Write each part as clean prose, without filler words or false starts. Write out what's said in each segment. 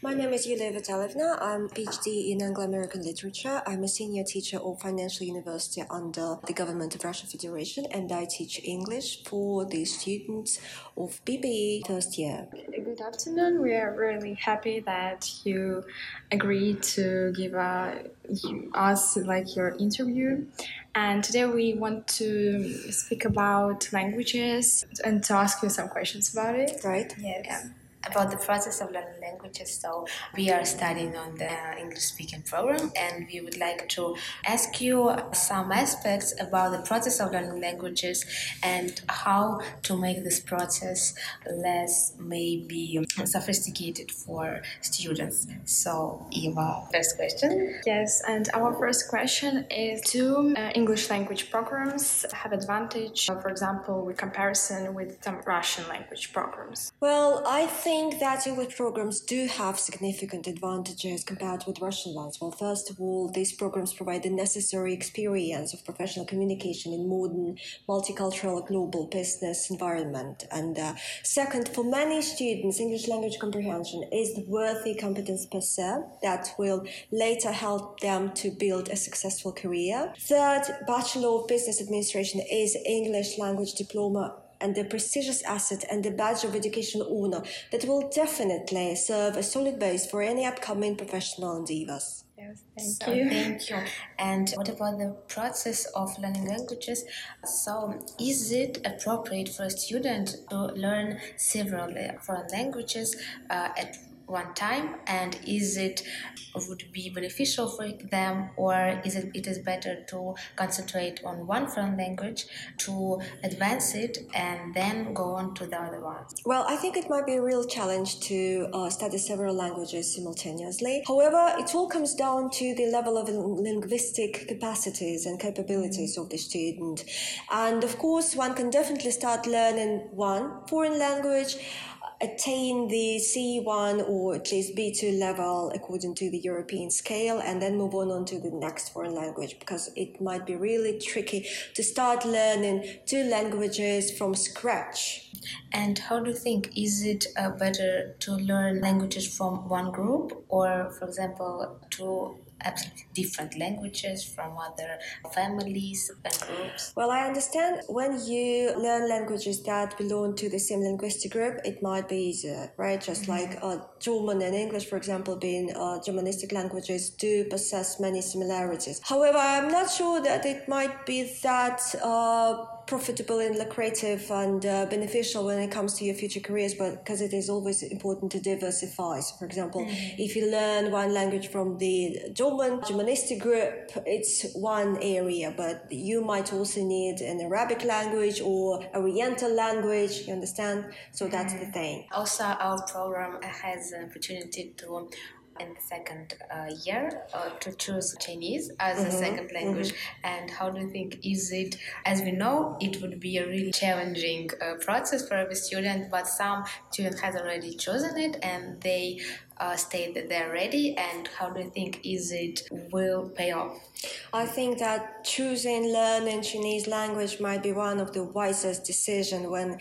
My name is Yulia Vitalyevna. I'm PhD in Anglo-American Literature. I'm a senior teacher of Financial University under the Government of Russian Federation, and I teach English for the students of BBE first year. Good afternoon. We are really happy that you agreed to give us your interview. And today we want to speak about languages and to ask you some questions about it. Right? Yes. Yeah. About the process of learning languages. So we are studying on the English speaking program, and we would like to ask you some aspects about the process of learning languages and how to make this process less maybe sophisticated for students. So Eva, first question. Yes, and our first question is: do English language programs have advantage, for example, with comparison with some Russian language programs? Well, I think that English programs do have significant advantages compared with Russian ones. Well, first of all, these programs provide the necessary experience of professional communication in modern, multicultural, global business environment. And second, for many students, English language comprehension is the worthy competence per se that will later help them to build a successful career. Third, Bachelor of Business Administration is English language diploma and the prestigious asset and the badge of educational honor that will definitely serve a solid base for any upcoming professional endeavors. Yes, Thank you. And what about the process of learning languages? So, is it appropriate for a student to learn several foreign languages at one time, and would be beneficial for them, or it is better to concentrate on one foreign language to advance it and then go on to the other ones? Well, I think it might be a real challenge to study several languages simultaneously. However, it all comes down to the level of linguistic capacities and capabilities of the student. And of course, one can definitely start learning one foreign language, attain the C1 or at least B2 level according to the European scale, and then move on to the next foreign language, because it might be really tricky to start learning two languages from scratch. And how do you think, is it better to learn languages from one group, or for example two absolutely different languages from other families and groups? Well, I understand when you learn languages that belong to the same linguistic group, it might be easier, right? Just like German and English, for example, being Germanistic languages, do possess many similarities. However, I'm not sure that it might be that profitable and lucrative and beneficial when it comes to your future careers, but because it is always important to diversify. So, for example, if you learn one language from the Germanistic group, it's one area, but you might also need an Arabic language or Oriental language, you understand? So that's the thing. Also, our program has an opportunity to in the second year to choose Chinese as a second language. And how do you think, is it, as we know, it would be a really challenging process for every student, but some student has already chosen it and they state that they're ready, and how do you think, is it will pay off? I think that choosing learning Chinese language might be one of the wisest decisions when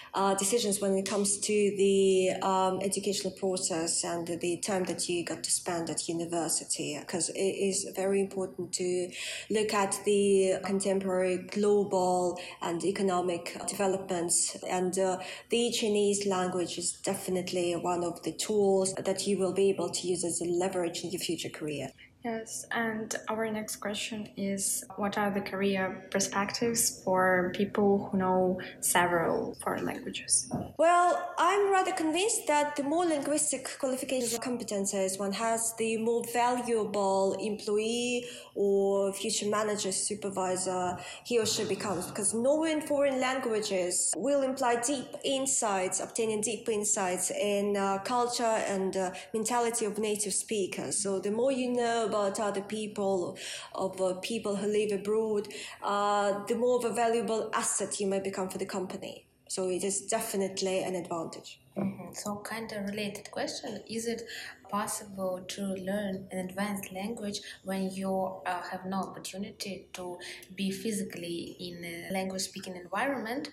it comes to the educational process and the time that you got to spend at university, because it is very important to look at the contemporary global and economic developments, and the Chinese language is definitely one of the tools that you will be able to use as a leverage in your future career. Yes, and our next question is: what are the career perspectives for people who know several foreign languages? Well, I'm rather convinced that the more linguistic qualifications or competences one has, the more valuable employee or future manager, supervisor he or she becomes, because knowing foreign languages will imply obtaining deep insights in culture and mentality of native speakers. So the more you know about other people, of people who live abroad, the more of a valuable asset you may become for the company. So it is definitely an advantage. So, kind of related question: is it possible to learn an advanced language when you have no opportunity to be physically in a language-speaking environment?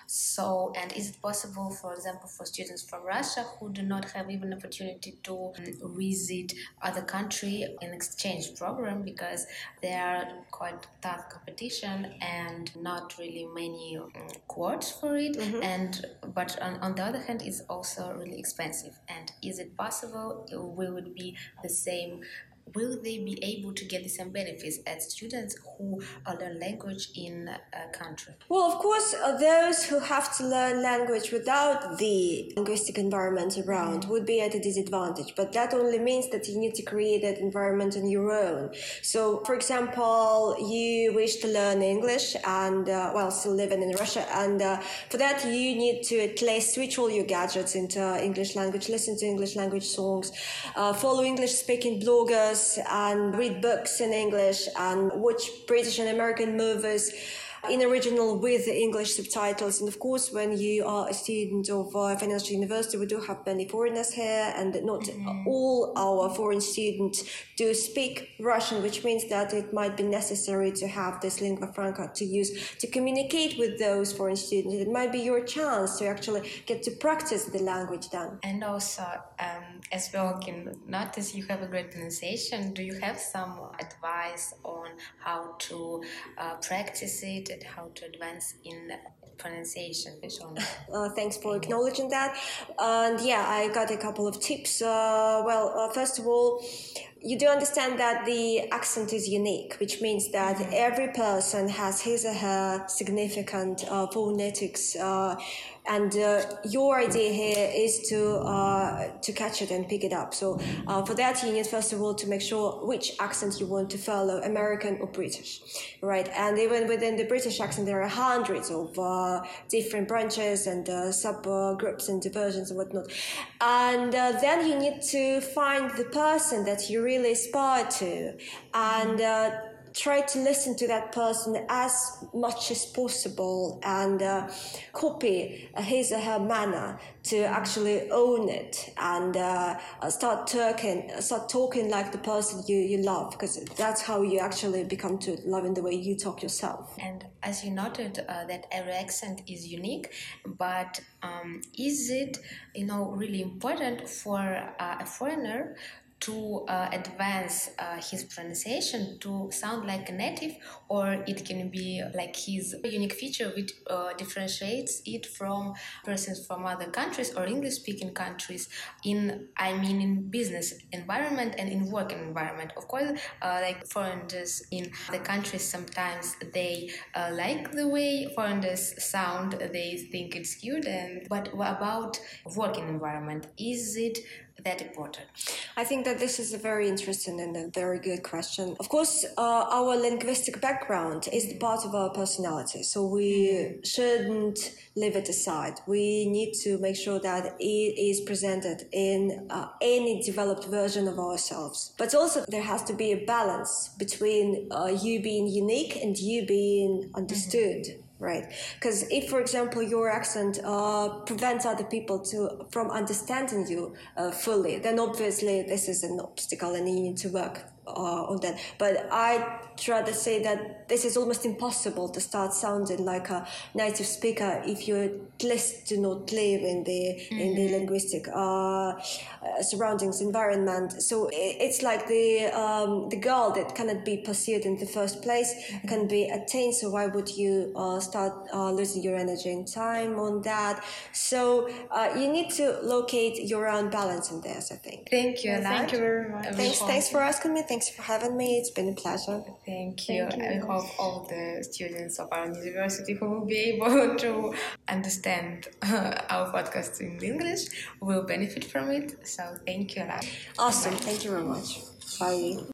So, and is it possible, for example, for students from Russia who do not have even opportunity to visit other country in exchange program because there are quite tough competition and not really many quotes for it, and but on the other hand, it's also really expensive. And is it possible? Will it be the same? Will they be able to get the same benefits as students who learn language in a country? Well, of course, those who have to learn language without the linguistic environment around would be at a disadvantage. But that only means that you need to create that environment on your own. So, for example, you wish to learn English and, while still living in Russia, and for that you need to at least switch all your gadgets into English language, listen to English language songs, follow English-speaking bloggers, and read books in English, and watch British and American movies in original with English subtitles. And of course, when you are a student of financial university, we do have many foreigners here, and not all our foreign students do speak Russian, which means that it might be necessary to have this lingua franca to use to communicate with those foreign students. It might be your chance to actually get to practice the language then. And also, as we all can notice, you have a great pronunciation. Do you have some advice on how to practice it and how to advance in pronunciation? Thanks for acknowledging that. And yeah, I got a couple of tips. First of all, you do understand that the accent is unique, which means that every person has his or her significant phonetics, and your idea here is to catch it and pick it up. So for that, you need first of all to make sure which accent you want to follow, American or British, right? And even within the British accent, there are hundreds of different branches and subgroups and diversions and whatnot. And then you need to find the person that you really aspire to, and try to listen to that person as much as possible, and copy his or her manner to actually own it, and start talking like the person you love, because that's how you actually become to love in the way you talk yourself. And as you noted, that every accent is unique, but is it really important for a foreigner to advance his pronunciation to sound like a native, or it can be like his unique feature which differentiates it from persons from other countries or English-speaking countries in business environment and in working environment? Of course, like foreigners in the countries, sometimes they like the way foreigners sound, they think it's cute, but about working environment, is it that important? I think that this is a very interesting and a very good question. Of course, our linguistic background is the part of our personality, so we shouldn't leave it aside. We need to make sure that it is presented in any developed version of ourselves. But also there has to be a balance between you being unique and you being understood. Right, because if, for example, your accent prevents other people from understanding you fully, then obviously this is an obstacle and you need to work on that. But I'd rather say that this is almost impossible to start sounding like a native speaker if you at least do not live in the linguistic surroundings environment. So it's like the goal that cannot be pursued in the first place can be attained. So why would you start losing your energy and time on that? So you need to locate your own balance in this, I think. Thank you. Thank you very much. Thanks for asking me. Thanks for having me. It's been a pleasure. Thank you. I hope all the students of our university who will be able to understand our podcast in English will benefit from it. So thank you a lot. Awesome. Thank you very much. Bye.